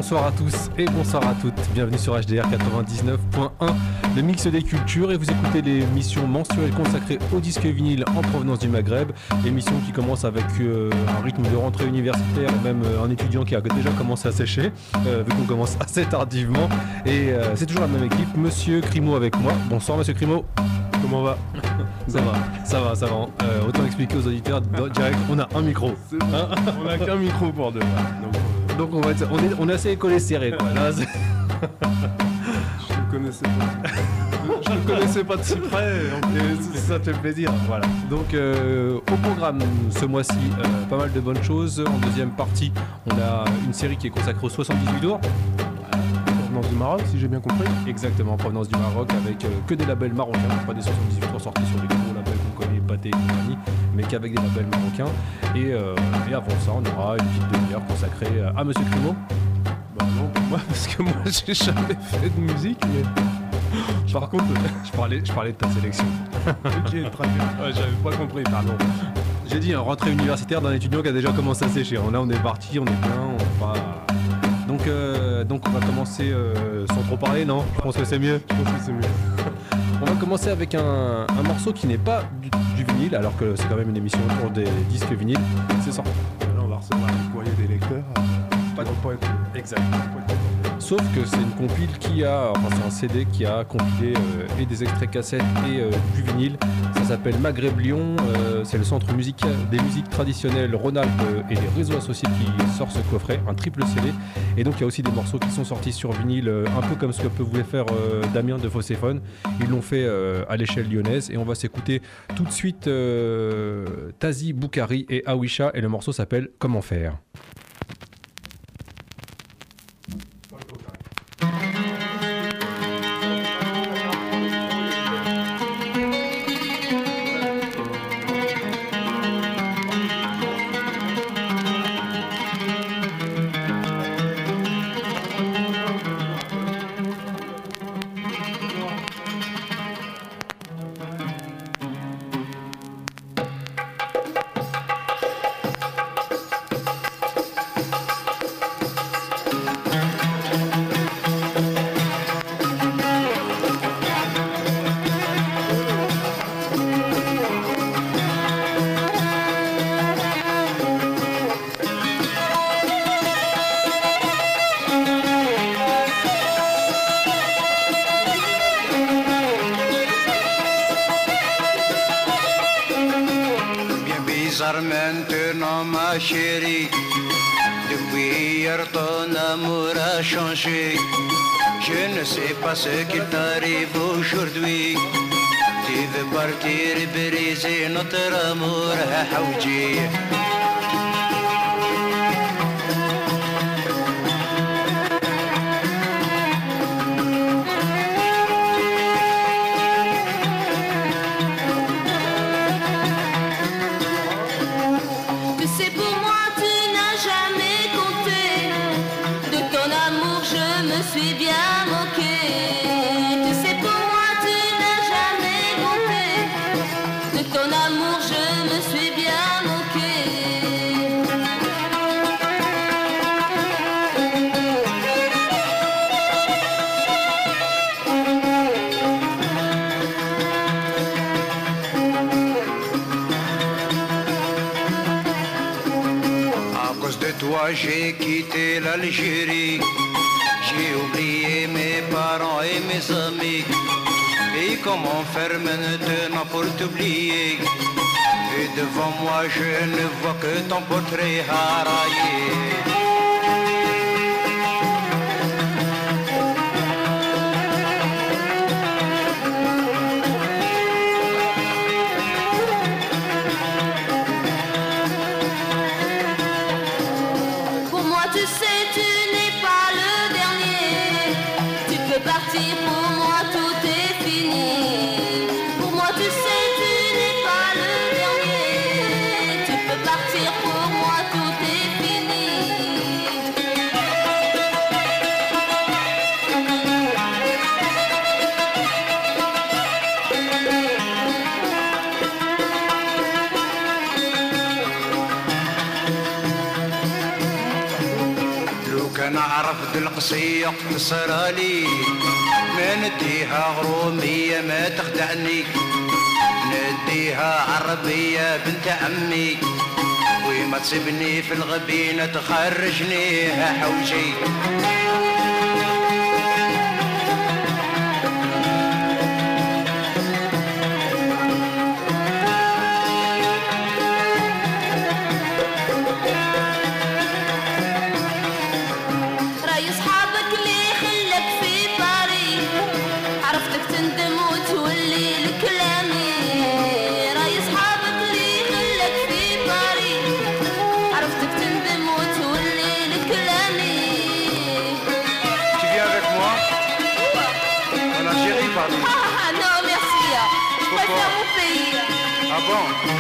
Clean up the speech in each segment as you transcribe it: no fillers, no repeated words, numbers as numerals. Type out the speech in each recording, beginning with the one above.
Bonsoir à tous et bonsoir à toutes. Bienvenue sur HDR 99.1, le mix des cultures, et vous écoutez l'émission mensuelle consacrée au disque vinyle en provenance du Maghreb. Émission qui commence avec un rythme de rentrée universitaire et même un étudiant qui a déjà commencé à sécher, vu qu'on commence assez tardivement. Et c'est toujours la même équipe, Monsieur Crimo avec moi. Bonsoir Monsieur Crimo. Comment va? Ça va. Autant expliquer aux auditeurs direct, on a un micro. On a qu'un micro pour deux. Donc on est assez collé serré quoi. Là, je ne connaissais pas. Je ne connaissais pas de si près. Ça te fait plaisir. Voilà. Donc au programme ce mois-ci, pas mal de bonnes choses. En deuxième partie, on a une série qui est consacrée aux 78 tours. Provenance du Maroc, si j'ai bien compris. Exactement, provenance du Maroc, avec que des labels marocains, pas des 78 tours sortis sur les gros labels qu'on connaît, Pathé et compagnie, mais qu'avec des labels marocains. Et avant ça, on aura une petite demi-heure consacrée à Monsieur Crimo. Bah non, pour moi, parce que moi, j'ai jamais fait de musique, mais... Par contre, je parlais de ta sélection. Ok, très bien. Ouais, j'avais pas compris, pardon. J'ai dit, rentrée universitaire d'un étudiant qui a déjà commencé à sécher. Là, on est parti, on est bien, on va pas... Donc on va commencer sans trop parler, non? Je pense que c'est mieux. On va commencer avec un morceau qui n'est pas du vinyle, alors que c'est quand même une émission autour des disques vinyles. C'est ça. Là, on va recevoir un courrier des lecteurs. Exact. Sauf que c'est une compile c'est un CD qui a compilé et des extraits cassettes et du vinyle. Ça s'appelle Maghreb Lyon. C'est le centre musical des musiques traditionnelles Rhône-Alpes et les réseaux associés qui sort ce coffret, un triple CD. Et donc il y a aussi des morceaux qui sont sortis sur vinyle, un peu comme ce que voulait faire Damien de Fosséphone. Ils l'ont fait à l'échelle lyonnaise, et on va s'écouter tout de suite Tazi Boukari et Awisha, et le morceau s'appelle Comment faire. Maintenant ma chérie, depuis hier ton amour a changé. Je ne sais pas ce qui t'arrive aujourd'hui. Tu veux partir et briser notre amour à Haoudji. J'ai quitté l'Algérie, j'ai oublié mes parents et mes amis. Et comment faire maintenant pour t'oublier? Et devant moi je ne vois que ton portrait haraillé. عرفت القصية قصرالي ما نديها غرومية ما تخدعني نديها عربية بنت عمي وما تسيبني في الغبينة تخرجني حوجي Ah non, merci. Je préfère mon pays. Ah bon?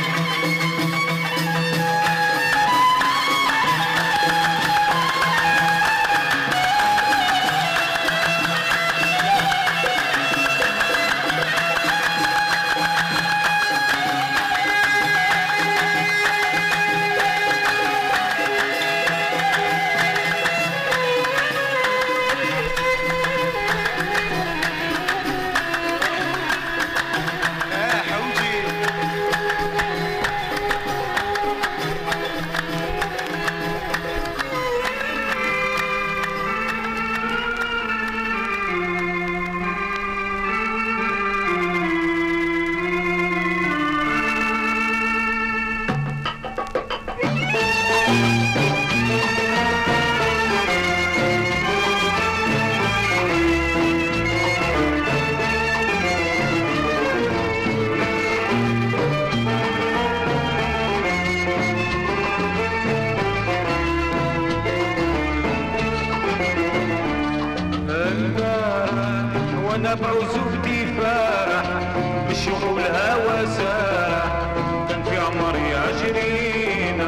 بعزوفتي فرح بالشوق والهوى سارح كان في عمري عشرين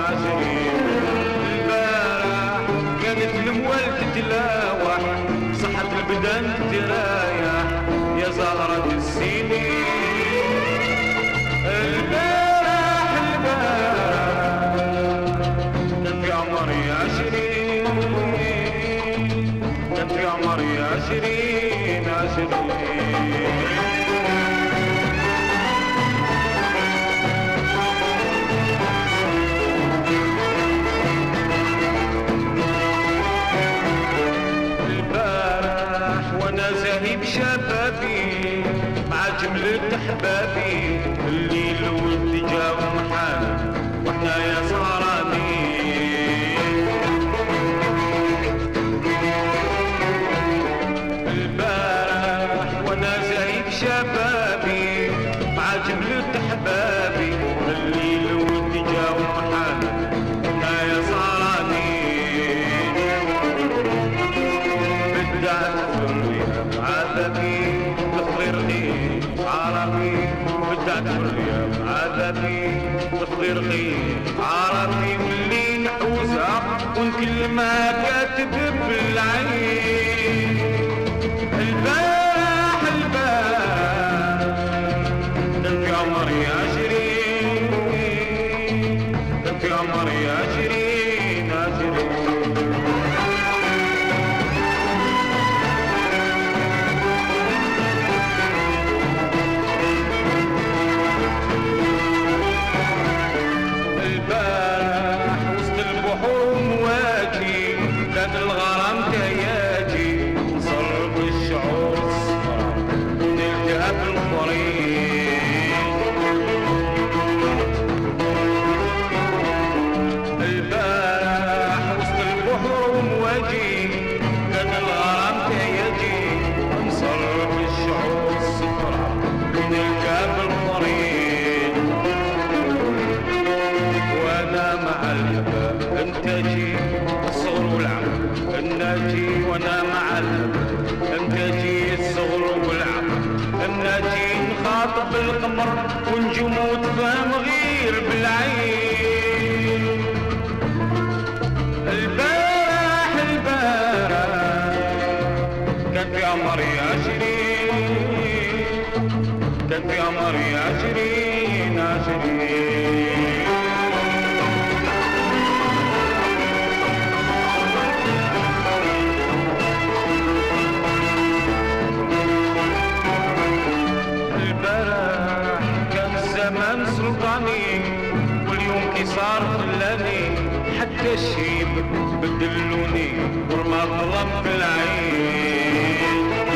البارح كانت الموال تتلاوح صحة البدن تترايح يا زهرة السنين البارح كان في عمري عشرين كان في عمري عشرين البارح وانا زاهي بشبابي مع جملة احبابي الليل والدجا ومحال واحنا يا سهرانين شبابي مع جملة احبابي الليل والدجا ومحال انا يا صارانين بدعت حرية عذابي تفضير غير عربي بدعت حرية عذابي تفضير غير عربي واللي نحوزها ونكلمها كاتب بالعين عمري عشرين في عمري عشرين البارح وسط البحور مواجي كان الغرام تياجي صرف الشعور الصفرا نلتهب الطريق انتاجي الصغر والعمر الناجي وانا مع انتاجي الصغر والعمر الناجي نخاطب القمر ونجوم وتفهم غير بالعين البارح كان في عمري عشرين كان في عمري عشرين سلطاني واليوم كي صار خلاني حتى الشيب بدلوني ورما ظلم في العين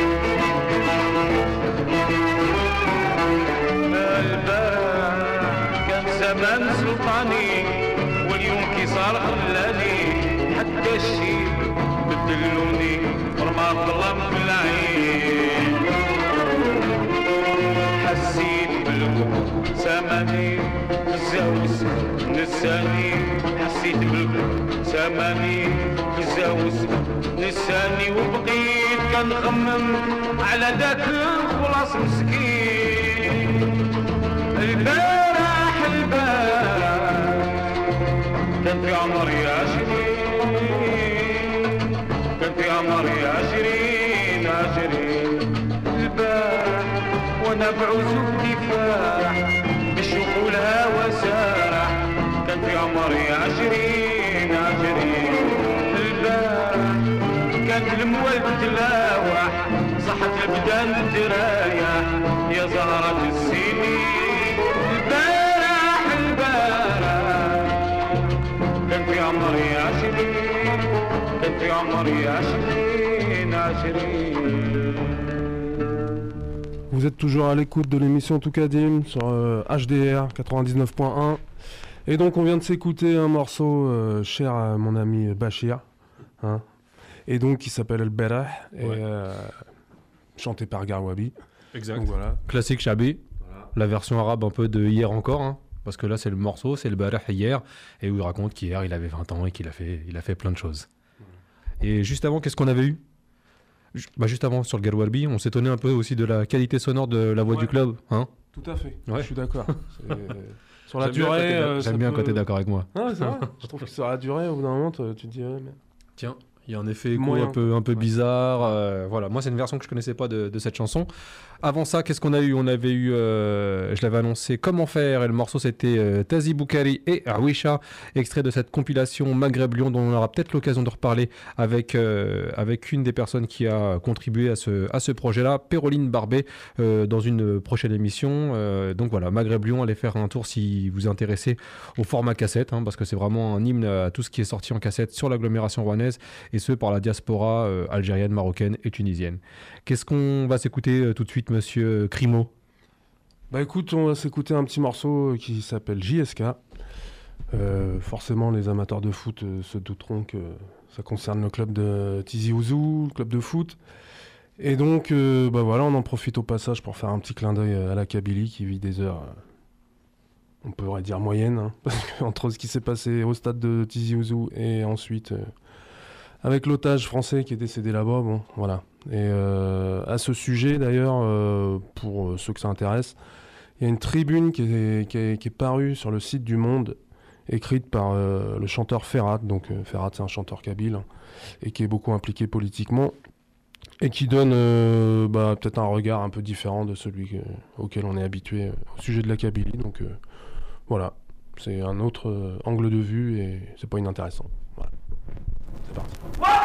البارح كان زمان سلطاني واليوم كي صار خلاني حتى الشيب بدلوني ورما ظلم في العين حسيت بالقوة ساماني الزاوس نساني حسيت بالقوة ساماني الزاوس نساني وبقيت كنخمم على داك الخلاص مسكين البارح كان في عمري 20 كان في عمري 20 البارح وانا بعزوف كفاح بالشوق والهوى سارح كان في عمري 20 البارح كانت الموال تتلاوح صحت البدان تريح يا زهرة السنين البارح كان في عمري 20 كان في عمري 20 Vous êtes toujours à l'écoute de l'émission Toukadim sur HDR 99.1 et donc on vient de s'écouter un morceau cher à mon ami Bachir hein, et donc qui s'appelle El Berah et chanté par Garwabi. Exact. Donc, voilà. Classique Chabi, voilà. La version arabe un peu de hier encore, hein, parce que là c'est le morceau, c'est le Berah hier, et où il raconte qu'hier il avait 20 ans et qu'il a fait plein de choses. Et juste avant, qu'est-ce qu'on avait eu ? Juste avant sur le Garwabi, on s'étonnait un peu aussi de la qualité sonore de la voix du club, hein ? Tout à fait, ouais. Je suis d'accord. Sur la durée... J'aime bien quand t'es d'accord avec moi. Ah, c'est vrai. Je trouve que sur la durée, au bout d'un moment, tu te dis... Ouais, mais... Tiens, il y a un effet écho un peu bizarre. Voilà, moi c'est une version que je connaissais pas de cette chanson. Avant ça, qu'est-ce qu'on a eu ? On avait eu, je l'avais annoncé, Comment faire, et le morceau c'était Tazi Boukari et Awisha, extrait de cette compilation Maghreb Lyon dont on aura peut-être l'occasion de reparler avec une des personnes qui a contribué à ce projet-là, Péroline Barbet, dans une prochaine émission. Donc voilà, Maghreb Lyon, allez faire un tour si vous vous intéressez au format cassette, hein, parce que c'est vraiment un hymne à tout ce qui est sorti en cassette sur l'agglomération rouennaise, et ce par la diaspora algérienne, marocaine et tunisienne. Qu'est-ce qu'on va s'écouter tout de suite, monsieur Crimo ? Bah écoute, on va s'écouter un petit morceau qui s'appelle JSK. Forcément, les amateurs de foot se douteront que ça concerne le club de Tizi Ouzou, le club de foot. Et donc, bah voilà, on en profite au passage pour faire un petit clin d'œil à la Kabylie qui vit des heures, on pourrait dire moyennes, hein, parce qu'entre ce qui s'est passé au stade de Tizi Ouzou et ensuite avec l'otage français qui est décédé là-bas, bon, voilà. Et à ce sujet, d'ailleurs, pour ceux que ça intéresse, il y a une tribune qui est parue sur le site du Monde, écrite par le chanteur Ferhat. Donc Ferhat, c'est un chanteur kabyle, et qui est beaucoup impliqué politiquement, et qui donne peut-être un regard un peu différent de celui auquel on est habitué au sujet de la Kabylie. Donc voilà, c'est un autre angle de vue, et c'est pas inintéressant. Voilà. C'est parti.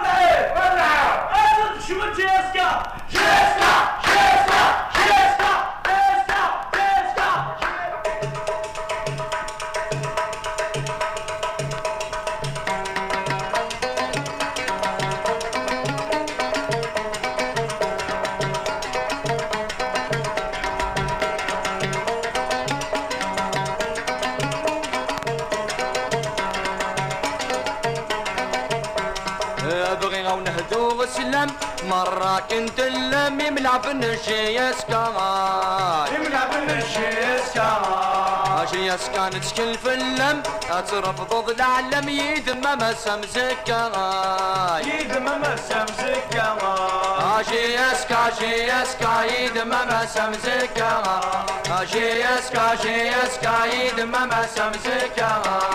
شو جيسكا جيسكا جيسكا جيسكا جيسكا جيسكا بغينا ونهدو السلام مرة كنت اللمي ملعب النشيسكا ملعب النشيسكا جيسكا نتشكل في اللم ترفض العلم يدمم سمزكا يدمم سمزكا جيسكا جيسكا يدمم سمزكا جيسكا جيسكا يدمم سمزكا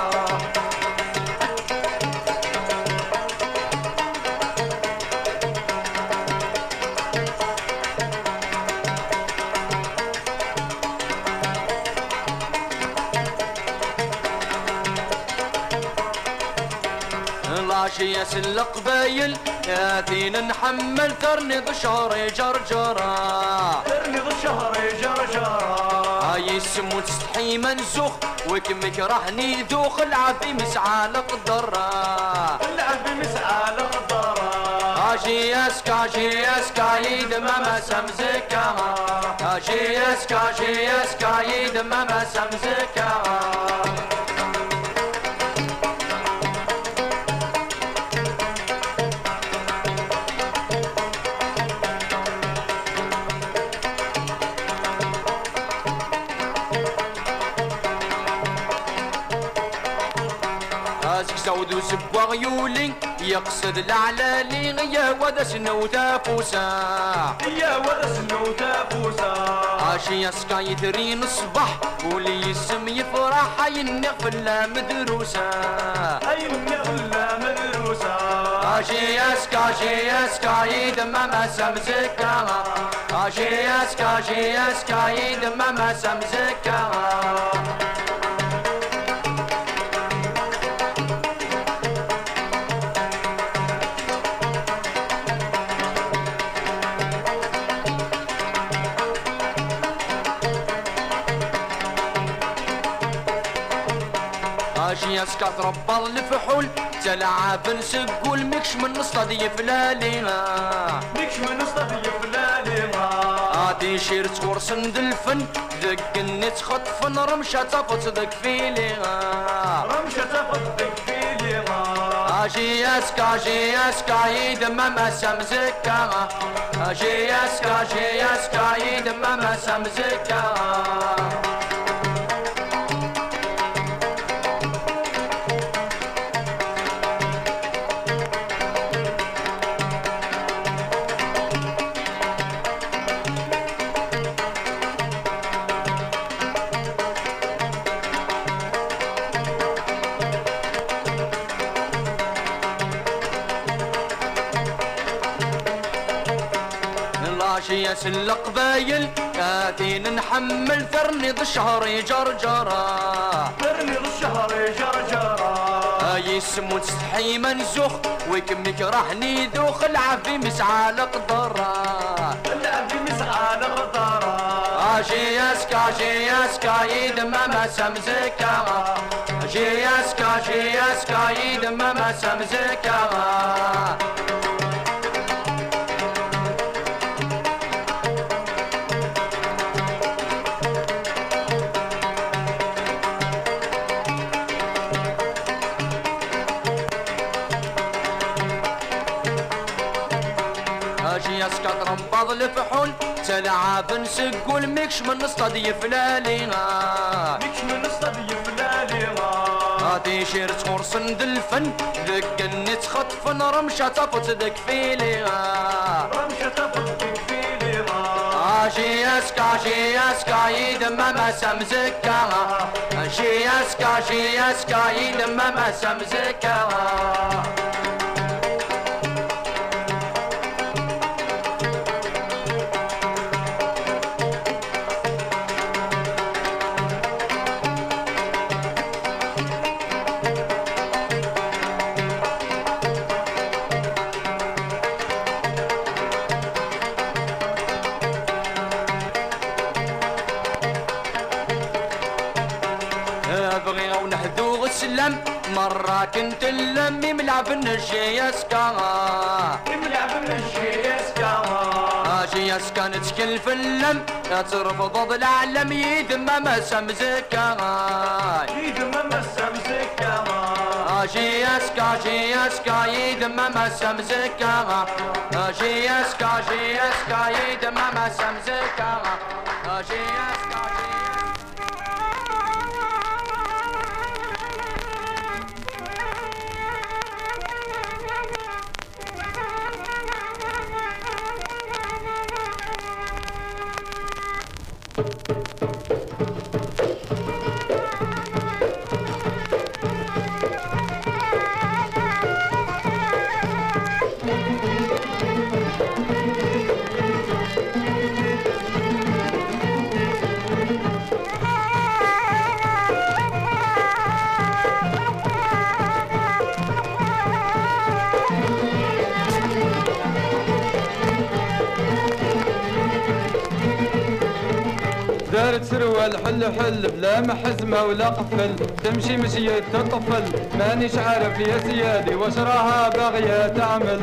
شياس القبايل ياثين نحمل ثرني بشهري جرجرة ثرني بشهري جرجرة هاي يسمو تستحي منسوخ وكمك راحني ذوخ العبي مسعى القدرة العبي مسعى القدرة هاشي يسكا يد ماما سمزكا هاشي يسكا يد ماما سمزكا زود وسبوا غيولي يقصد العلالي يا ودا سنو تافوسا يا ودا سنو تافوسا عاشي يسكا يدرين الصبح ولي يسم يفرح ينغفل مدروسا ينغفل مدروسا عاشي يسكا يدمم سمزكا عاشي يسكا يدمم سمزكا يسكا تربى الفحول تلعب نسقول مكش من نصطدي فلالينا مكش من نصطدي فلالينا عادي شير تورس ندلفن دق النت خطفن رمشة تفت دق فيلينا رمشة تفت دق فيلينا عاشي يسكا يدمم سمزكا عاشي يسكا يدمم سمزكا يا سلق بايل كاتين نحمل ثرني ذا الشهر جرجرة ثرني ذا الشهر جرجرة يسمو تستحي منسوخ ويكمك راحني ذوخ العبي مسعى القدرة العبي مسعى القدرة عاشي يسكا يدمم سمزكا عاشي يسكا يدمم سمزكا يسكا تربض الفحول تلعب نسقول مكش من نصطدي فلالينا مكش من نصطدي فلالينا هادي شير تخرص ندلفن دق النت خطفن رمشة تفت دق فيلينا رمشة تفت دق فيلينا عاشي يسكا يدمم سمزكا عاشي يسكا يدمم سمزكا مرة كنت اللمي ملعب النجي يسكا ملعب النجي يسكا هاشي يسكا نتشكل في اللم ترفض العلم يدمم سمزكا يدمم سمزكا هاشي يسكا يدمم سمزكا هاشي يسكا يدمم سمزكا هاشي يسكا دارت سروال حل حل بلا محزمة ولا قفل تمشي مشية الطفل مانيش عارف يا سيادي واش راها باغية تعمل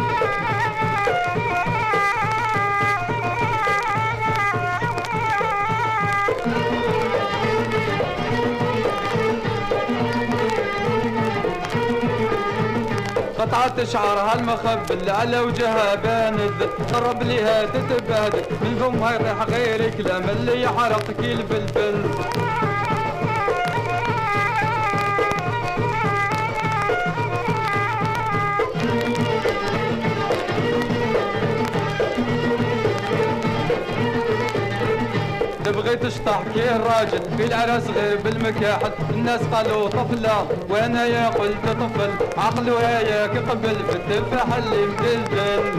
قطعت شعرها المخبل على وجهها باند قرب ليها تتبهدل من فمها يطيح غير كلام اللي يحرق كي الفلفل تبغي تشطح كي الراجل في العرس غير بالمكاحل الناس قالوا طفلة وانا يا قلت طفل عقله هياك قبل في التفاح اللي مدلدل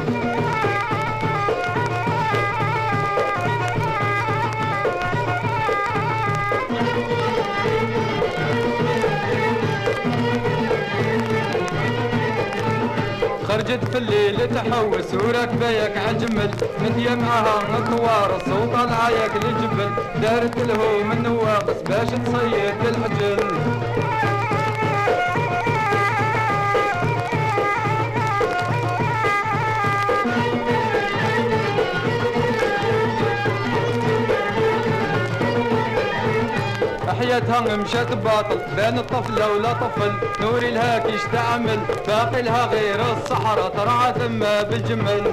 خرجت في الليل تحوس وراكبه ياك عالجمل مديا معاها كوارص وطالعه ياك للجبل دارت له من نواقص باش تصيد الحجل حياتها مشات باطل بين الطفلة ولا طفل نوري لها كيش تعمل باقي لها غير الصحراء ترعى ثم بالجمل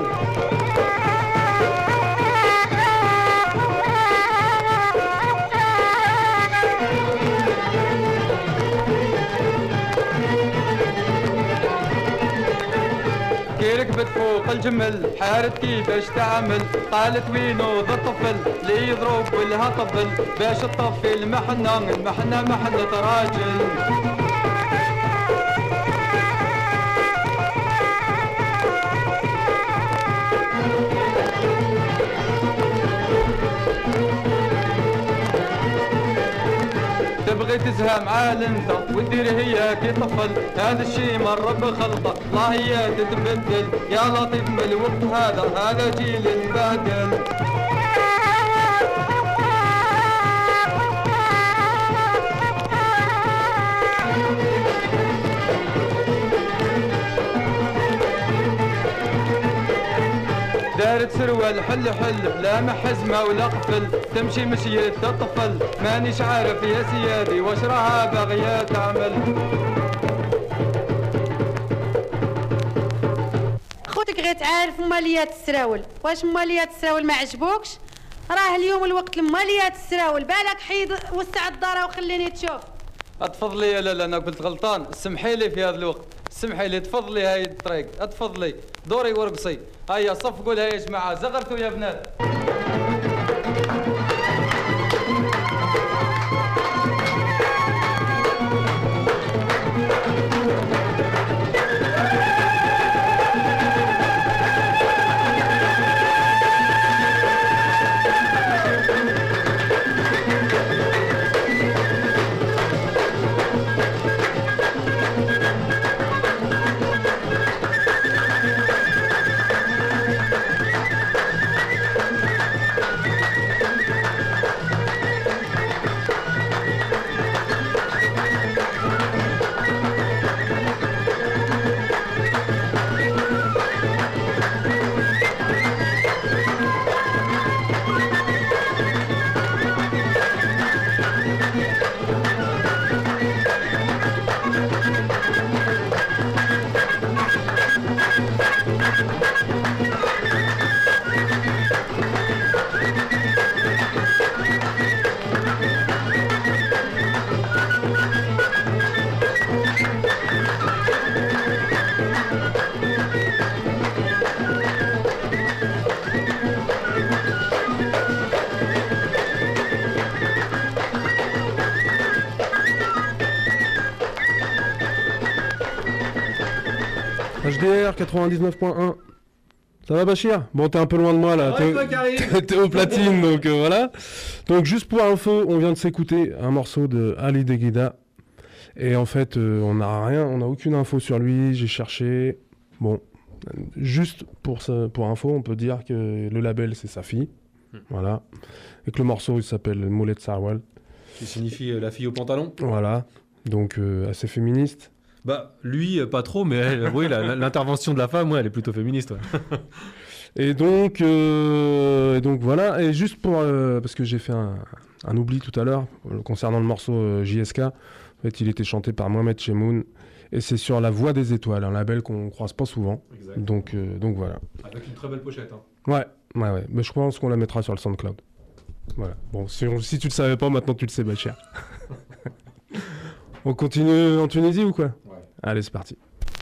ركبت فوق الجمل حارت كيفاش تعمل قالت وينو ذا الطفل لي يضرب ولها طبل باش تطفي المحنة محنة راجل تبغي تزهى عال انت ودير هي كي طفل هذا الشي مر بخلطه الله هي تتبدل يا لطيف من الوقت هذا جيل البادل دارت سروال حل حل بلا محزمة ولا قفل تمشي مشية الطفل مانيش عارف يا سيادي واش راها باغية تعمل خوتك غير تعرف ماليات السراول واش ماليات السراول ما عجبوكش راه اليوم الوقت لماليات السراول بالك حيد وسع الدار وخليني تشوف اتفضلي يا لالا انا قلت غلطان سمحي لي في هذا الوقت سمحي لي تفضلي هاي الطريق اتفضلي دوري ورقصي هيا صفقوا لها يا جماعه زغرتوا يا بنات HDR 99.1. Ça va Bachir? Bon, t'es un peu loin de moi là, t'es au platine donc voilà. Donc juste pour info, on vient de s'écouter un morceau de Ali Deguida. Et en fait, on n'a aucune info sur lui, j'ai cherché. Bon, juste pour info, on peut dire que le label c'est sa fille. Voilà. Et que le morceau il s'appelle Moulette Sarwal. Qui signifie la fille au pantalon. Voilà. Donc assez féministe. Bah lui pas trop, mais elle, oui, l'intervention de la femme, ouais, elle est plutôt féministe. Ouais. Et donc voilà. Et juste pour parce que j'ai fait un oubli tout à l'heure concernant le morceau JSK. En fait, il était chanté par Mohamed Chemoun. Et c'est sur La Voix des Étoiles, un label qu'on croise pas souvent. Exact. Donc voilà. Avec une très belle pochette. Hein. Ouais. Mais je pense qu'on la mettra sur le SoundCloud. Voilà. Bon, si tu le savais pas, maintenant tu le sais, Bachir. On continue en Tunisie ou quoi? Ouais. Allez, c'est parti.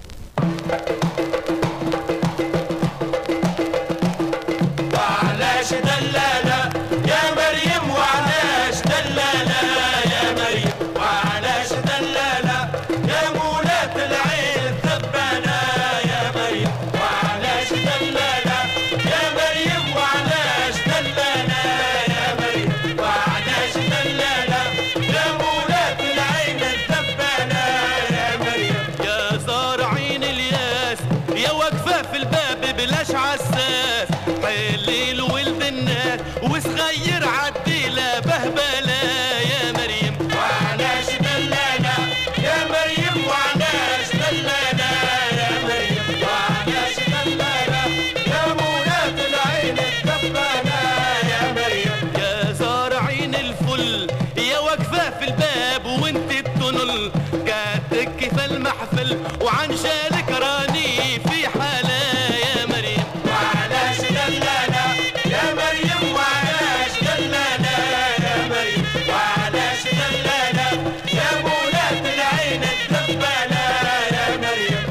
وعن شالك راني في حالة يا مريم وعلاش دلالة يا مريم وعلاش دلالة يا مريم وعلاش دلالة يا مولاة العين الدبالة يا مريم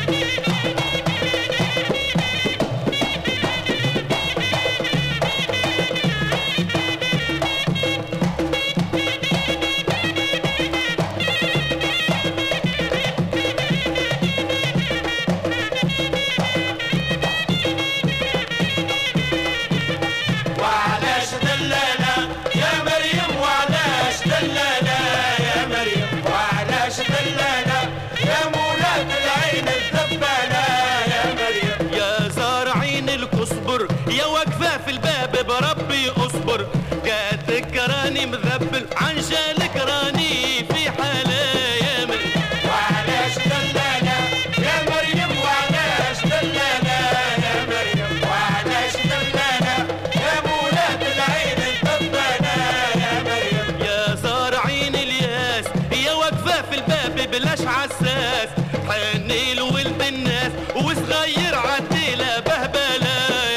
اصبر جاتك راني مذبل عن جالك راني في حالة يا مريم وعلاش دلالة يا مريم وعلاش دلالة يا مريم وعلاش دلالة يا مولاة العين الدبالة يا مريم يا زارعين الياس يا واقفة في الباب بلاش عساس حني لولد الناس وصغير عديلة بهبلة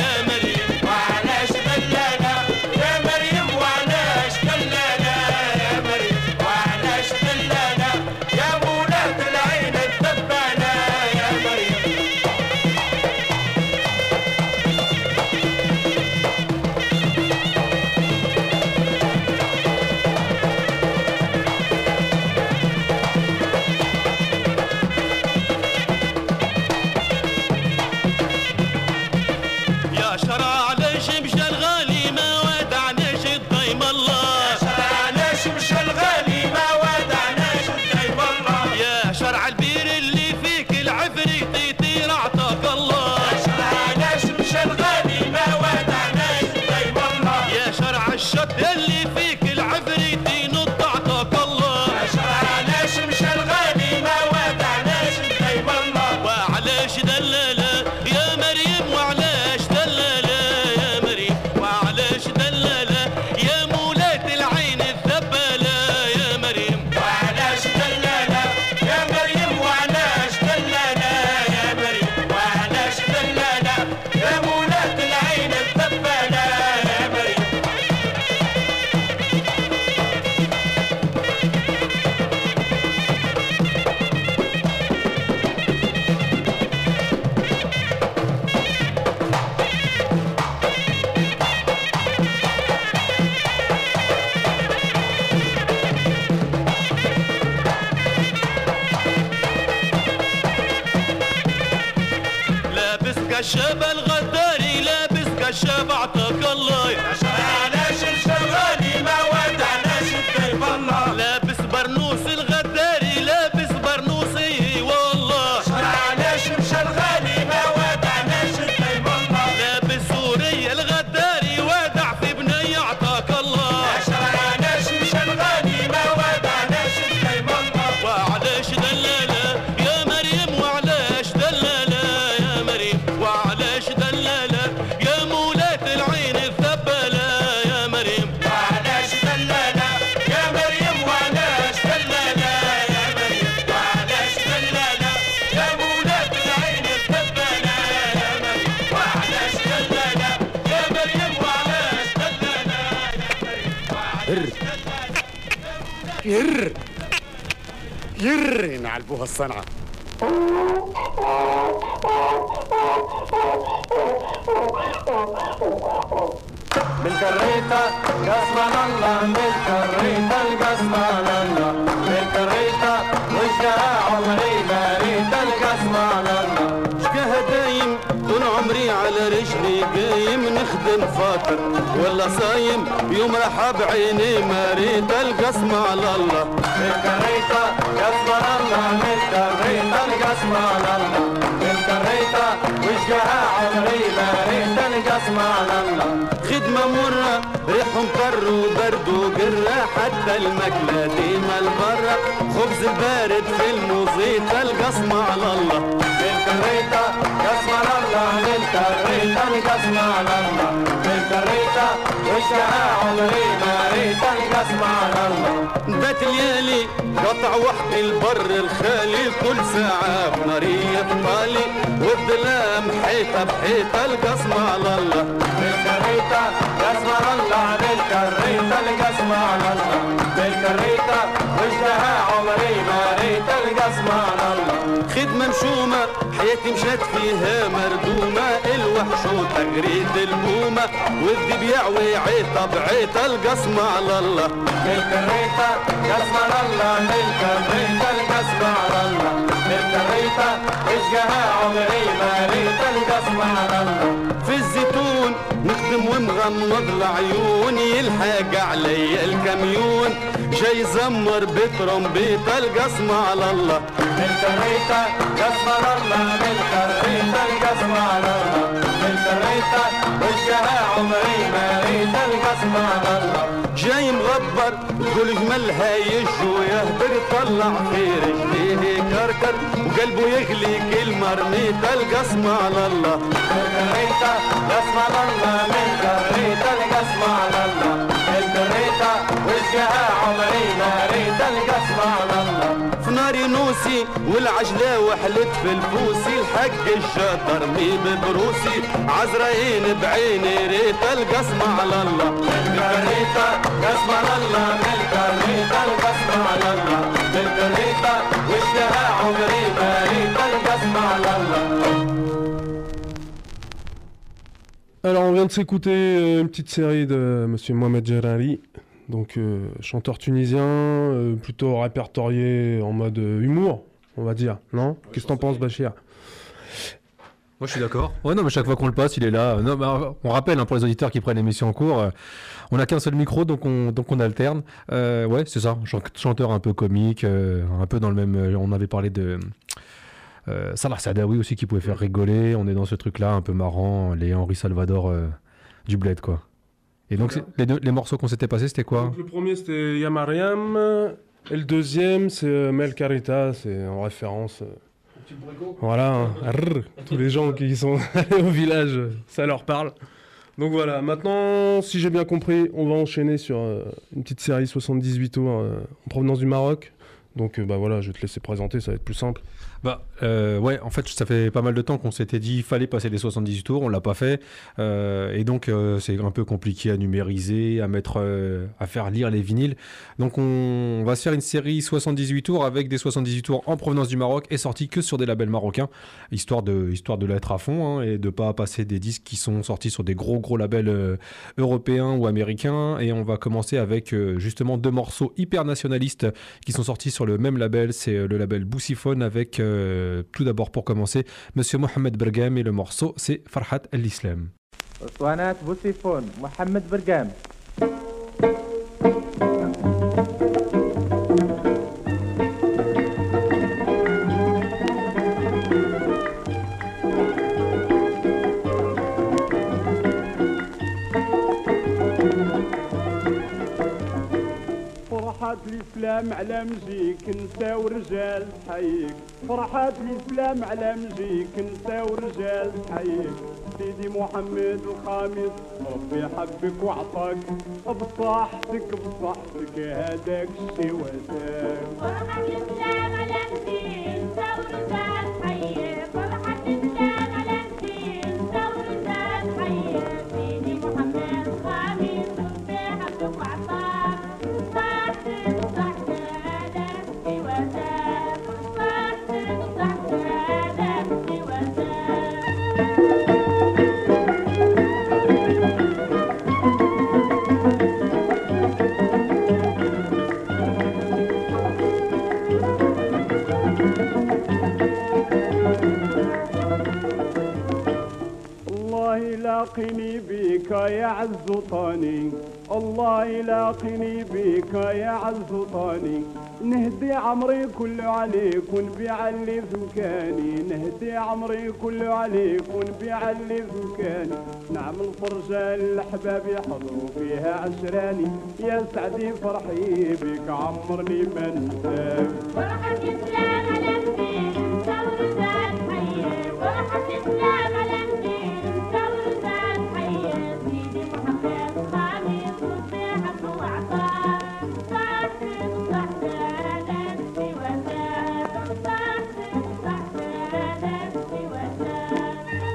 كشاب الغداري لابس كشاب اعطاك الله علاش الشغالي ما ودعناش بكيف الله لابس برنوس الغداري لابس برنوسي والله علاش مشى الغالي ما ودعناش بكيف الله لابس سوريا الغداري ودع في ير نعلبوها الصنعة. بالكريتة قسما الله بالكريتة القسما الله بالكريتة وجهها عمري مريتة القسما الله شكاها دايم طول عمري على رجلي قايم نخدم فاكر ولا صايم يوم راح بعيني مريت القسم على الله بالكريتة قسما الله بالكريتة القسما الله بالكريتة وجهها عمري مريتة القسما الله خدمة مرة ريح مطر وبرد وقرة حتى المكلة ديما البرة خبز البارد في الموزيت القسم على الله بالكريتة قسما الله بالكريتة القسما على الله بالكريتة وجهها عمري مريتة القسما على الله بات ليالي قطع وحدي البر الخالي كل ساعة بنارية طالي والظلام حيطة بحيطة القسم على الله بالكريتة قسما الله بالكريتة القسما على الله بالكريتة وجهها عمري مريتة القسما على الله خدمة مشومة حياتي مشات فيها مردومة الوحشو تغريد البومة والذي بيعوي عيطة بعيطة القسم على الله بالكريتة قسما الله بالكريتة القسما على الله بالكريتة وجهها عمري مريتة القسما على الله في الزيتون نخدم ومغمض العيون يلحق علي الكميون جاي زمر بترمبيت القسم على الله بالكريتة قسما الله بالكريتة القسما على الله بالكريتة وجهها عمري مريتة القسما على الله جاي مغبر تقول جملها يجو يهدر طلع في رجليه كركر وقلبه يغلي كل مرميت القسم على الله بالكريتة قسما الله بالكريتة القسما على الله بالكريتة وجهها عمري مريتة القسما على الله في ناري نوسي والعجلة وحلت في الفوسي الحق الشاطر مي ببروسي عزرائين بعيني ريت القسم على الله بالكريتة قسما الله بالكريتة القسما على الله بالكريتة وجهها عمري مريتة القسما على الله. Alors on vient de s'écouter une petite série de Monsieur Mohamed Gerari, donc chanteur tunisien, plutôt répertorié en mode humour, on va dire, non? Qu'est-ce que t'en penses, Bachir? Moi je suis d'accord. Ouais, non, mais chaque fois qu'on le passe, il est là. Non, bah, on rappelle hein, pour les auditeurs qui prennent l'émission en cours, on n'a qu'un seul micro, donc on alterne. Ouais, c'est ça, chanteur un peu comique, un peu dans le même. On avait parlé de. Salah Sadawi aussi qui pouvait faire rigoler. On est dans ce truc-là un peu marrant, les Henri Salvador du bled, quoi. Et donc les morceaux qu'on s'était passés, c'était quoi? Donc, le premier c'était Yamariam, et le deuxième c'est Mel Carita, c'est en référence. Voilà, hein. Tous les gens qui sont allés au village, ça leur parle. Donc voilà, maintenant, si j'ai bien compris, on va enchaîner sur une petite série 78 tours en provenance du Maroc. Donc bah voilà, je vais te laisser présenter, ça va être plus simple. Bah ouais, en fait ça fait pas mal de temps qu'on s'était dit il fallait passer les 78 tours, on l'a pas fait et donc c'est un peu compliqué à numériser, à mettre, à faire lire les vinyles. Donc on va se faire une série 78 tours avec des 78 tours en provenance du Maroc et sortis que sur des labels marocains, histoire de l'être à fond hein, et de pas passer des disques qui sont sortis sur des gros labels européens ou américains. Et on va commencer avec justement deux morceaux hyper nationalistes qui sont sortis sur le même label, c'est le label Boussiphone avec tout d'abord pour commencer Monsieur Mohamed Bergam et le morceau c'est Farhat El-Islam. Oswanat Boussiphone, Mohamed Bergam. فرحات الإسلام على مجيك نسا ورجال حيك فرحات الإسلام على مجيك نسا ورجال حيك سيدي محمد الخامس ربي حبك وعطاك بصحتك هذاك الشي وزاك فرحات الإسلام على مجيك نسا ورجال حيك فرحات الإسلام على مجيك نسا ورجال حيك سيدي محمد الخامس ربي حبك وعطاك بك يا عز طاني الله يلاقيني بك يا عز طاني نهدي عمري كله عليك ونبيع اللي في مكاني نهدي عمري كله عليك ونبيع اللي في مكاني نعمل فرجة للأحباب يحضروا فيها عشراني يا سعدي فرحي بك عمرني ما ننساك فرحة إسلام على الدين ثور زاد حية فرحة إسلام على الدين ثور زاد حية سيدي محمد خامس وصيحة وعطاء صاحب صحدان سواسان صاحب صحدان سواسان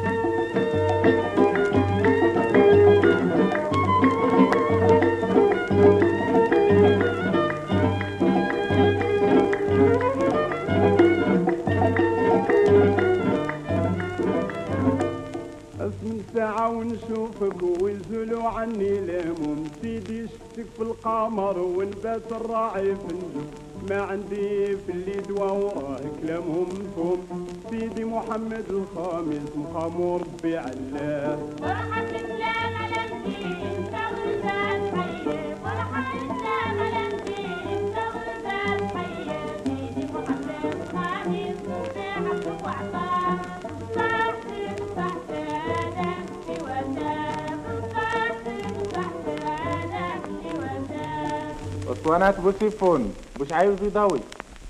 اسم ساعة ونشوفك ويزولوا عني الهموم سيدي شفتك في القمر ونبات الراعي في النجوم ما عندي في اللي دوا وراه كلامهم مفهوم سيدي محمد الخامس مخامور ربي علاه فرحة الإسلام على الدين ثور زاد حية فرحة الإسلام على الدين ثور زاد حية سيدي محمد خامس وصيحة وعطاء صاحب صحدان سواسان صاحب صحدان سواسان اسطوانات بوسيفون مش عايز يضوي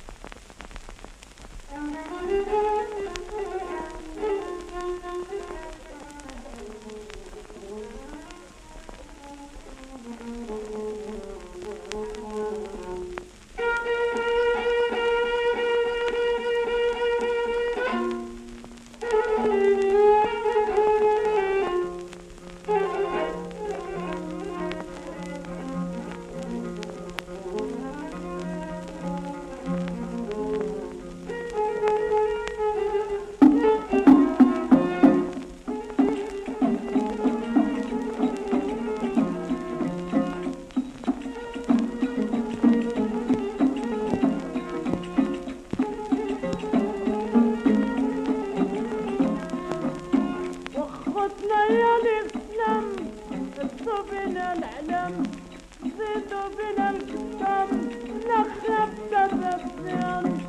وخطنا يا الإسلام زدوا بنا العلم زيدوا بنا الكتاب نخلف تذبذب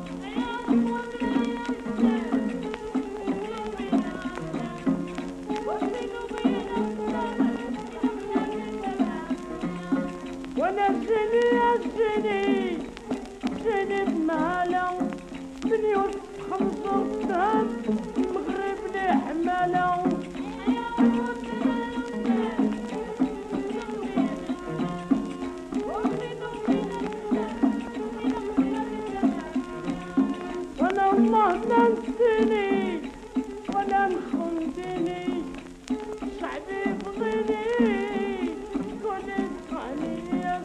وانا جيني يا جيني جيني بمهلة من يوسف 5 المغرب لي حمالة وانا الله ما نسيني ولا نخندني شعبي بغيني كل اسمعني يا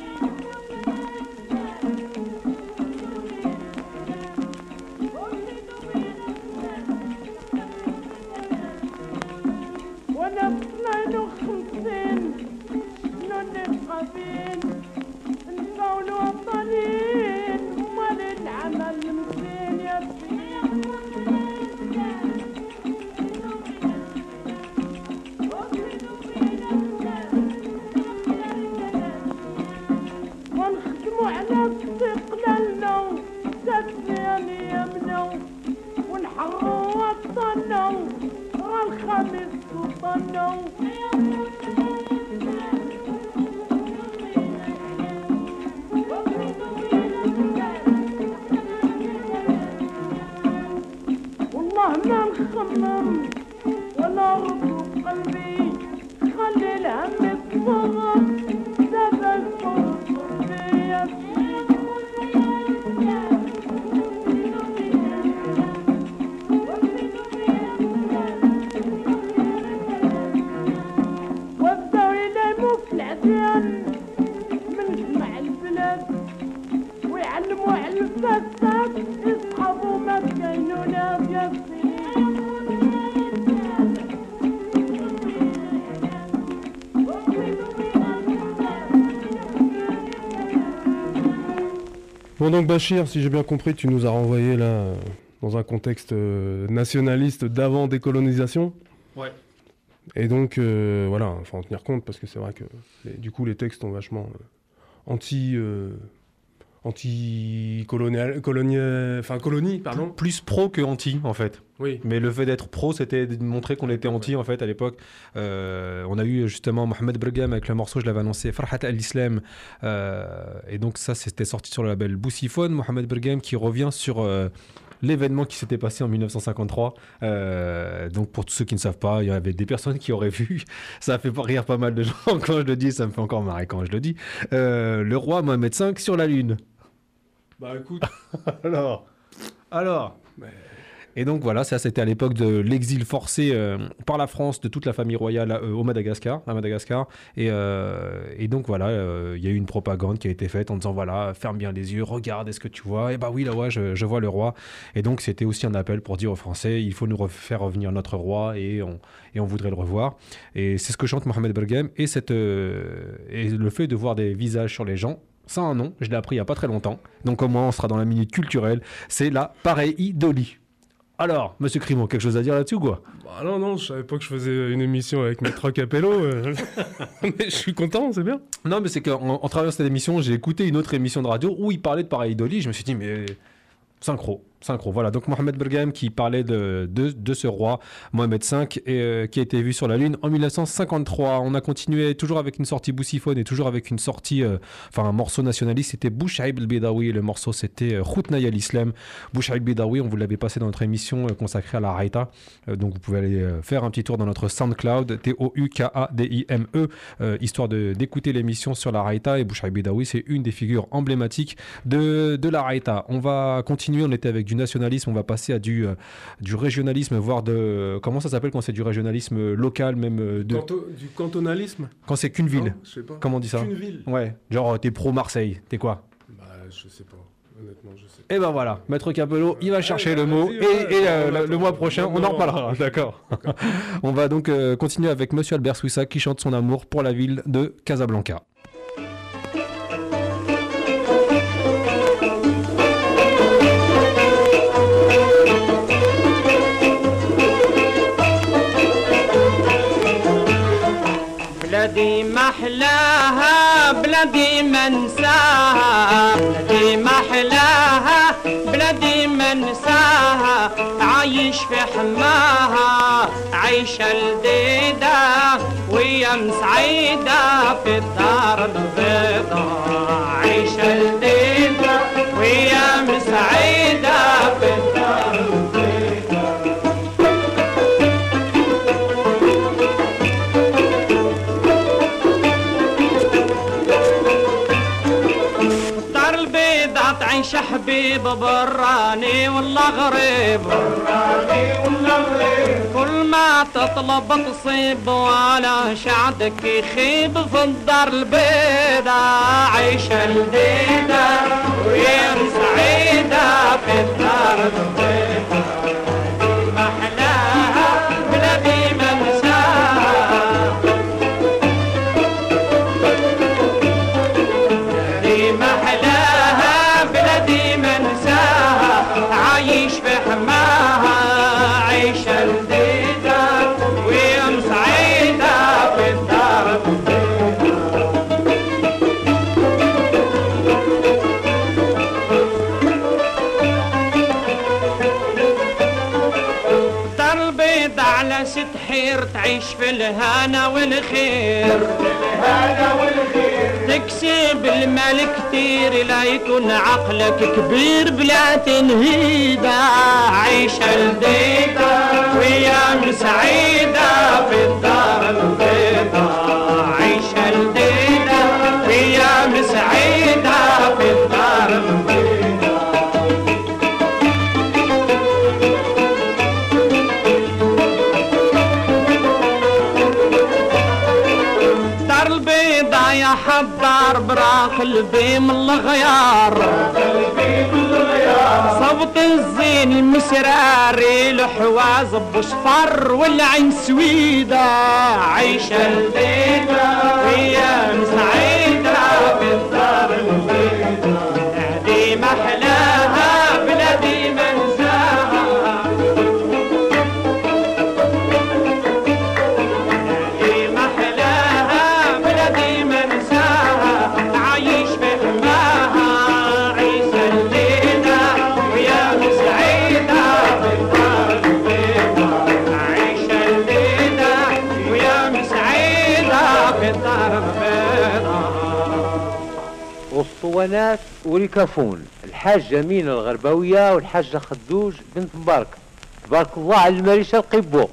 وانا ب 52 شنو نبقى بين نبقى الوطنيين ومال العمل مزين يا ونخدموا على استقلالنا تدفين يمنا ونحروا وطننا والخميس وطننا والله ما نخمم ولا ربط قلبي خلي الهم يتصرف دابا الفرص فيا وبداو يلعبوا في العديان من جمع البلاد ويعلموا على الفساد يصحابوا ما كاينوا لا Bon donc Bachir, si j'ai bien compris, tu nous as renvoyé là dans un contexte nationaliste d'avant décolonisation. Ouais. Et donc, voilà, il faut en tenir compte parce que c'est vrai que du coup, les textes sont vachement colonie, pardon. Plus pro que anti, en fait. Oui. Mais le fait d'être pro, c'était de montrer qu'on était anti, en fait, à l'époque. On a eu justement Mohamed Bergam avec le morceau, je l'avais annoncé, Farhat al-Islam. Et donc ça, c'était sorti sur le label Boussiphone. Mohamed Bergam qui revient sur l'événement qui s'était passé en 1953. Donc pour tous ceux qui ne savent pas, il y avait des personnes qui auraient vu. Ça fait rire pas mal de gens quand je le dis, ça me fait encore marrer quand je le dis. Le roi Mohamed V sur la Lune. Bah écoute. Alors. Et donc voilà, ça c'était à l'époque de l'exil forcé par la France de toute la famille royale à Madagascar. Et donc voilà, il y a eu une propagande qui a été faite en disant voilà, ferme bien les yeux, regarde, est-ce que tu vois? Et bah oui, là ouais, je vois le roi. Et donc c'était aussi un appel pour dire aux Français, il faut nous faire revenir notre roi et on voudrait le revoir. Et c'est ce que chante Mohamed Bergam et le fait de voir des visages sur les gens. Ça a un nom, je l'ai appris il n'y a pas très longtemps. Donc au moins on sera dans la minute culturelle, c'est la pareidolie. Alors, monsieur Crimo, quelque chose à dire là-dessus ou quoi? Bah non, je savais pas que je faisais une émission avec Maître Capello. Mais je suis content, c'est bien. Non, mais c'est qu'en travaillant cette émission, j'ai écouté une autre émission de radio où il parlait de pareidolie. Je me suis dit, mais synchro. Voilà, donc Mohamed Bergam qui parlait de ce roi, Mohamed V, et qui a été vu sur la Lune en 1953. On a continué toujours avec une sortie Boussiphone et toujours avec une sortie, un morceau nationaliste, c'était Bouchaïb el-Bedawi. Le morceau, c'était Khoutnaï al-Islam. Bouchaïb el-Bedawi, on vous l'avait passé dans notre émission consacrée à la Raïta. Donc vous pouvez aller faire un petit tour dans notre SoundCloud, TOUKADIME, histoire d'écouter l'émission sur la Raïta. Et Bouchaïb el-Bedawi, c'est une des figures emblématiques de la Raïta. On va continuer, on était avec du nationalisme, on va passer à du régionalisme, voire de... Comment ça s'appelle quand c'est du régionalisme local, même du cantonalisme. Quand c'est qu'une ville. Non, je sais pas. Comment on dit ça? Qu'une ville. Ouais, genre t'es pro-Marseille, t'es quoi? Bah je sais pas, honnêtement je sais. Et ben voilà, Maître Capello, il va chercher le mot, le mois prochain, on en reparlera, d'accord. On va donc continuer avec Monsieur Albert Swissa qui chante son amour pour la ville de Casablanca. بلادي محلاها بلادي منساها بلادي محلاها بلادي منساها عايش في حماها عايشة لديدة ويا مسعيدة في الدار البيضاء عايشة لديدة ويا مسعيدة في الدار البيضاء عايش حبيب براني والله غريب كل ما تطلب تصيب ولا شعدك يخيب في الدار البيضاء عايشة لديدة ويا سعيدة في الدار البيضاء محلاها بلادي منساها بلادي محلاها بلادي منساها عايش في حماها عيشة لذيذة ويا مسعيدة في الدار الدار البيضة على ست حير تعيش في الهنا والخير تكسب المال كتير لا يكون عقلك كبير بلا تنهيدة عيشة لذيذة ويا مسعيدة في الدار البيضاء عيشة لذيذة ويا مسعيدة في الدار البيضاء يا حضار براق قلبي من الغيار صبط الزين المسراري الحواز بصفر والعين سويدة عيشة لذيذة ويا مسعيدة في الدار البيضاء بلادي محلاها بلادي منساها والاسطوانات وريكافون، الحاجة مينا الغرباوية والحاجة خدوج بنت مبارك، تبارك الله على المريشة القبو.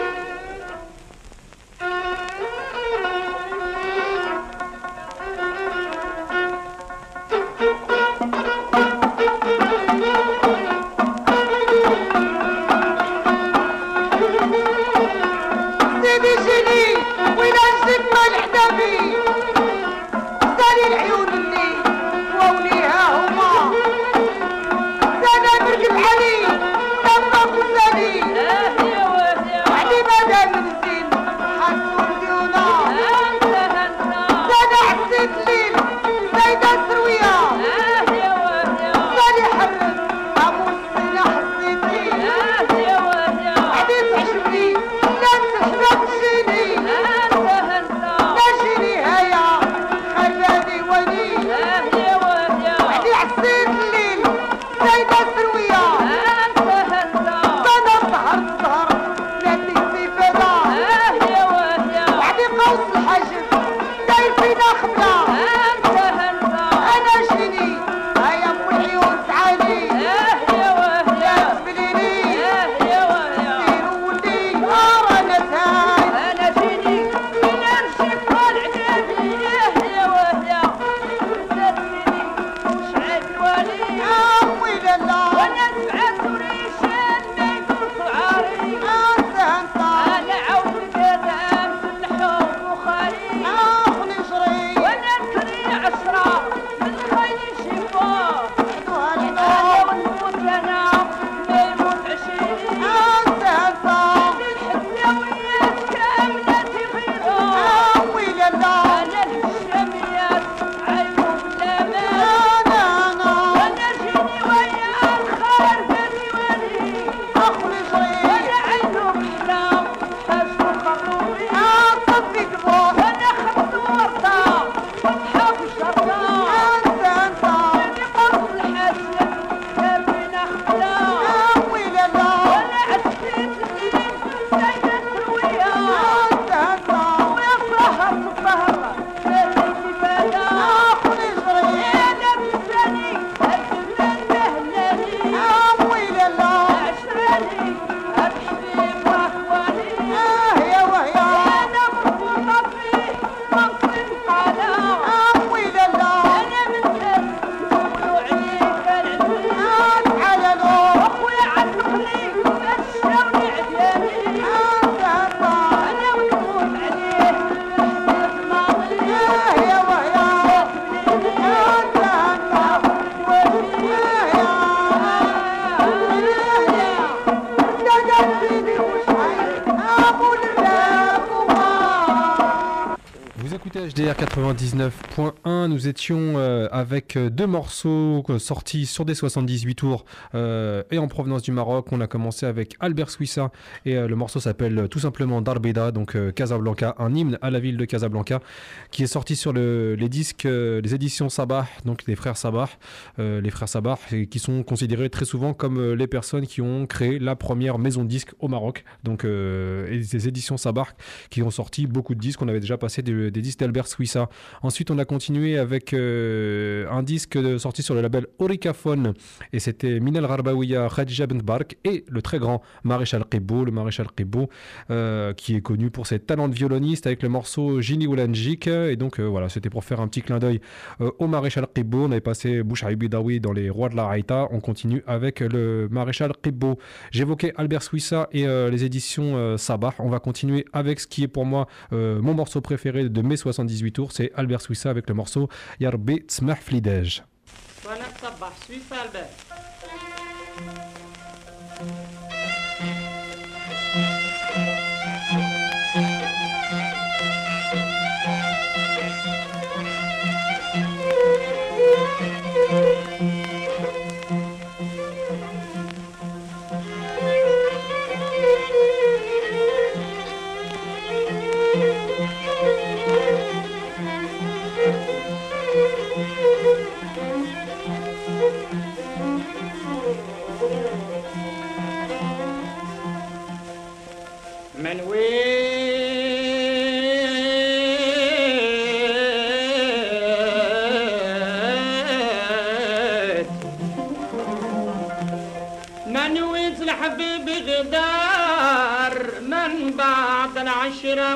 HDR 99.1, nous étions avec deux morceaux sortis sur des 78 tours et en provenance du Maroc. On a commencé avec Albert Swissa et le morceau s'appelle tout simplement Darbida, donc Casablanca, un hymne à la ville de Casablanca qui est sorti sur les disques, les éditions Sabah, donc les frères Sabah, qui sont considérés très souvent comme les personnes qui ont créé la première maison de disques au Maroc, donc et des éditions Sabah qui ont sorti beaucoup de disques. On avait déjà passé des disques d'Albert Swissa. Ensuite on a continué avec un disque sorti sur le label Oricafone et c'était Minal Gharbawiya, Khadija Bent Bark et le très grand Maréchal Qibbo, le Maréchal Qibbo qui est connu pour ses talents de violoniste avec le morceau Jini Oulanjik. Et donc voilà, c'était pour faire un petit clin d'œil au Maréchal Qibbo. On avait passé Bouchaï Bidawi dans les Rois de la Haïta. On continue avec le Maréchal Qibbo. J'évoquais Albert Swissa et les éditions Sabah. On va continuer avec ce qui est pour moi mon morceau préféré de mes 78 tours, c'est Albert Swissa avec le morceau Yarbi Tsmah Flidej. Voilà, Sabah, Swissa, Albert. من العشرة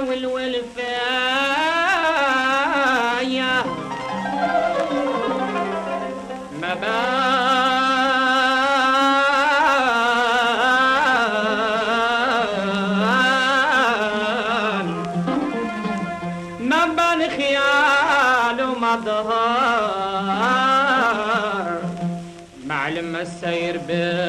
والولفاية ما بان خيال وما ظهر معلم السير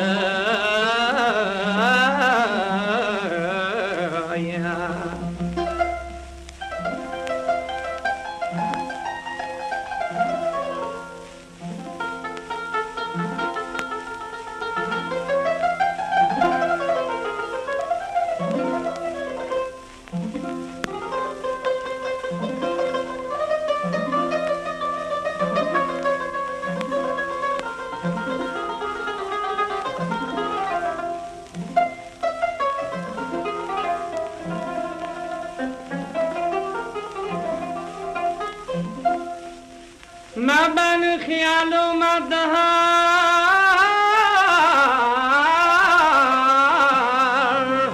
ما بان خيال وما ظهر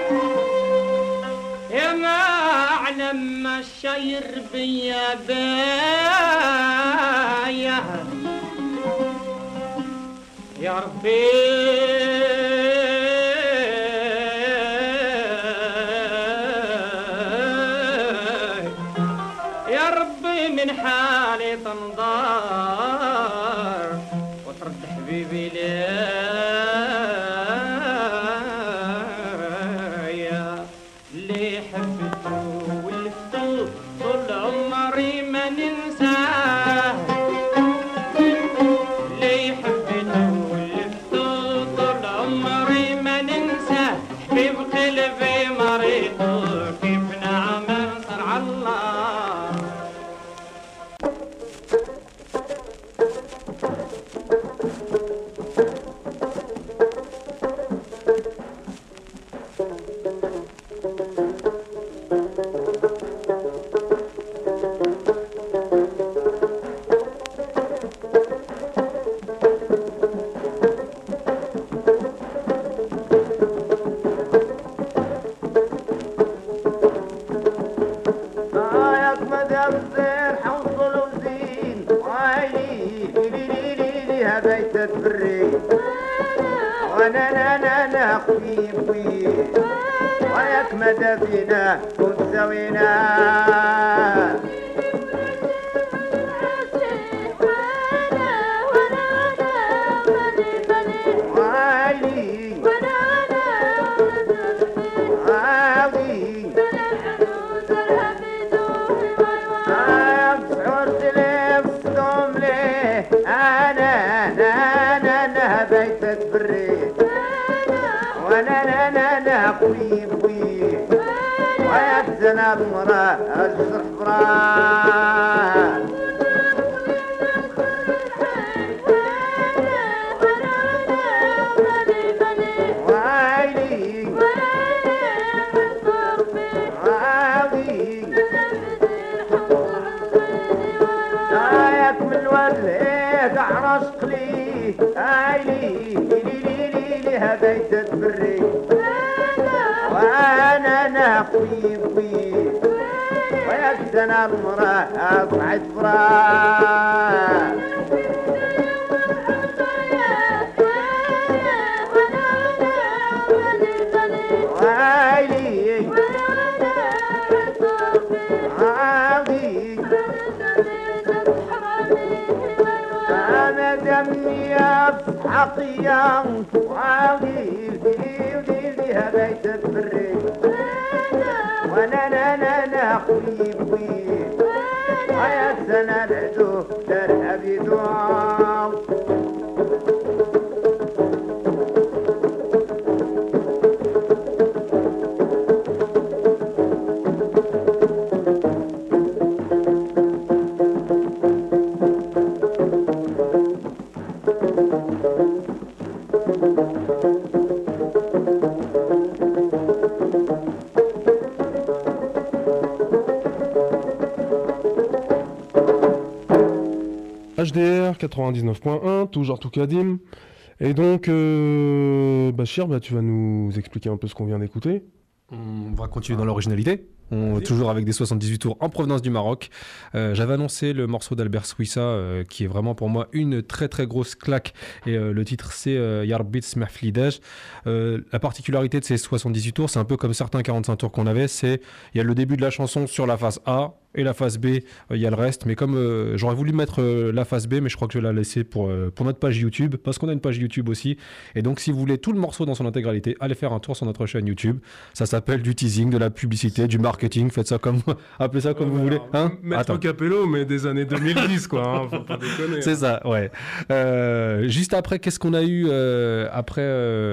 يا معلم ما الشير بيا بايا يا ربي من حالي تنظار وترد حبيبي ليا اللي حبته ولفته طول عمري ما ننساه اللي حبته ولفته طول عمري ما ننساه حبيب قلبي مريض كيف نعمل صرع الله وانا خوي وياك مدى فينا كنت سوينا خوي وياك زناب مراه الصرح براه ويلي وياك من الواد عرشق لي لي هبيت تبري وانا خوي وياك زنا المراه طلعت فراه ويلي عاضي انا دمي حقيا وعاضي بها بيت البري وانا خوي ويا سنة العدو ترهبي دوام HDR 99.1, toujours Toukadim. Et donc, Bachir, tu vas nous expliquer un peu ce qu'on vient d'écouter. On va continuer dans l'originalité. Toujours avec des 78 tours en provenance du Maroc. J'avais annoncé le morceau d'Albert Swissa qui est vraiment pour moi une très très grosse claque et le titre c'est Yarbit Smeh Flidaj. La particularité de ces 78 tours, c'est un peu comme certains 45 tours qu'on avait, il y a le début de la chanson sur la phase A et la phase B, il y a le reste, mais comme j'aurais voulu mettre la phase B, mais je crois que je vais la laisser pour notre page YouTube, parce qu'on a une page YouTube aussi, et donc si vous voulez tout le morceau dans son intégralité, allez faire un tour sur notre chaîne YouTube. Ça s'appelle du teasing, de la publicité, du marketing, faites ça comme appelez ça comme vous voulez, hein. Maître Capello, mais des années 2010 quoi, hein, faut pas déconner. C'est ça, ouais. Juste après, qu'est-ce qu'on a eu après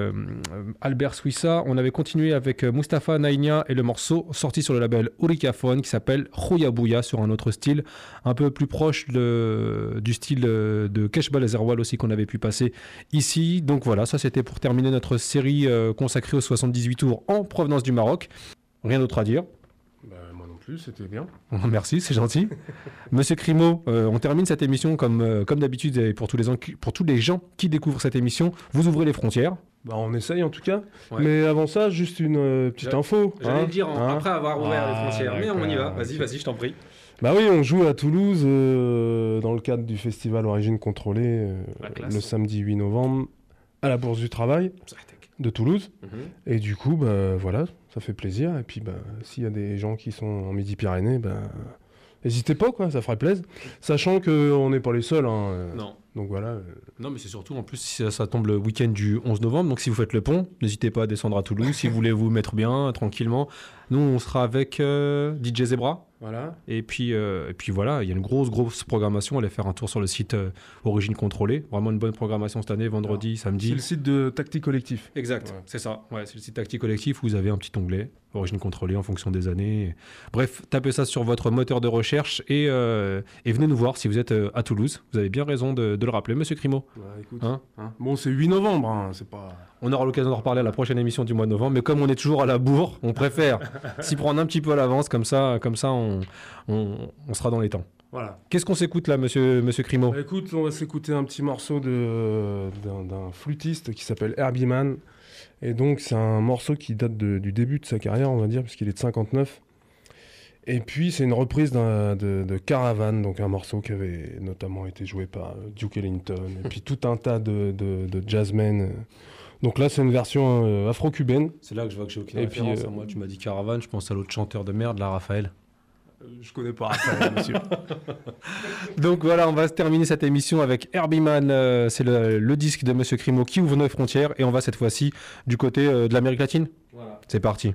Albert Swissa? On avait continué avec Mustapha Naïnia et le morceau sorti sur le label Ourikaphone qui s'appelle Khouya Bouya, sur un autre style un peu plus proche du style de Keshbal Azerwal aussi qu'on avait pu passer ici. Donc voilà, ça c'était pour terminer notre série consacrée aux 78 tours en provenance du Maroc. Rien d'autre à dire. Moi non plus, c'était bien. Merci, c'est gentil. Monsieur Crimo, on termine cette émission comme d'habitude, et pour tous les gens qui découvrent cette émission, vous ouvrez les frontières. On essaye en tout cas. Ouais. Mais avant ça, juste une petite info. J'allais le dire après avoir ouvert les frontières, mais on y va. Vas-y, je t'en prie. Bah oui, on joue à Toulouse dans le cadre du festival Origine Contrôlée le samedi 8 novembre à la Bourse du Travail de Toulouse. Et du coup, voilà, ça fait plaisir. Et puis, s'il y a des gens qui sont en Midi-Pyrénées, n'hésitez pas, quoi, ça ferait plaisir. Sachant qu'on n'est pas les seuls. Non. Donc voilà. Non, mais c'est surtout, en plus, si ça tombe le week-end du 11 novembre, donc si vous faites le pont, n'hésitez pas à descendre à Toulouse si vous voulez vous mettre bien, tranquillement. Nous, on sera avec DJ Zebra. Voilà. Et puis voilà, il y a une grosse programmation. Allez faire un tour sur le site Origine Contrôlée. Vraiment une bonne programmation cette année, vendredi, samedi. C'est le site de Tactique Collectif. Exact, ouais. C'est ça. Ouais, c'est le site Tactique Collectif où vous avez un petit onglet Origine Contrôlée en fonction des années. Bref, tapez ça sur votre moteur de recherche et venez nous voir si vous êtes à Toulouse. Vous avez bien raison de le rappeler, Monsieur Crimo. Écoute, bon, c'est 8 novembre, c'est pas... On aura l'occasion d'en reparler à la prochaine émission du mois de novembre, mais comme on est toujours à la bourre, on préfère s'y prendre un petit peu à l'avance, comme ça on sera dans les temps. Voilà. Qu'est-ce qu'on s'écoute là, Monsieur Crimo? Écoute, on va s'écouter un petit morceau d'un flûtiste qui s'appelle Herbie Mann. Et donc c'est un morceau qui date du début de sa carrière, on va dire, puisqu'il est de 59. Et puis c'est une reprise de Caravan, donc un morceau qui avait notamment été joué par Duke Ellington, et puis tout un tas de jazzmen. Donc là c'est une version afro-cubaine. C'est là que je vois que j'ai aucune référence. Moi tu m'as dit Caravan, je pense à l'autre chanteur de merde, là, Raphaël. Je connais pas Raphaël, monsieur. Donc voilà, on va se terminer cette émission avec Herbie Mann. C'est le disque de Monsieur Crimo qui ouvre nos frontières, et on va cette fois-ci du côté de l'Amérique latine. Voilà. C'est parti.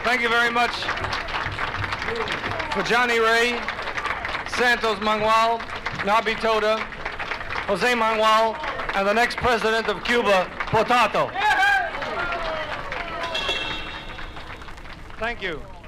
Thank you very much for Johnny Ray, Santos Manuel, Nabi Toda, Jose Manuel, and the next president of Cuba, Potato. Thank you.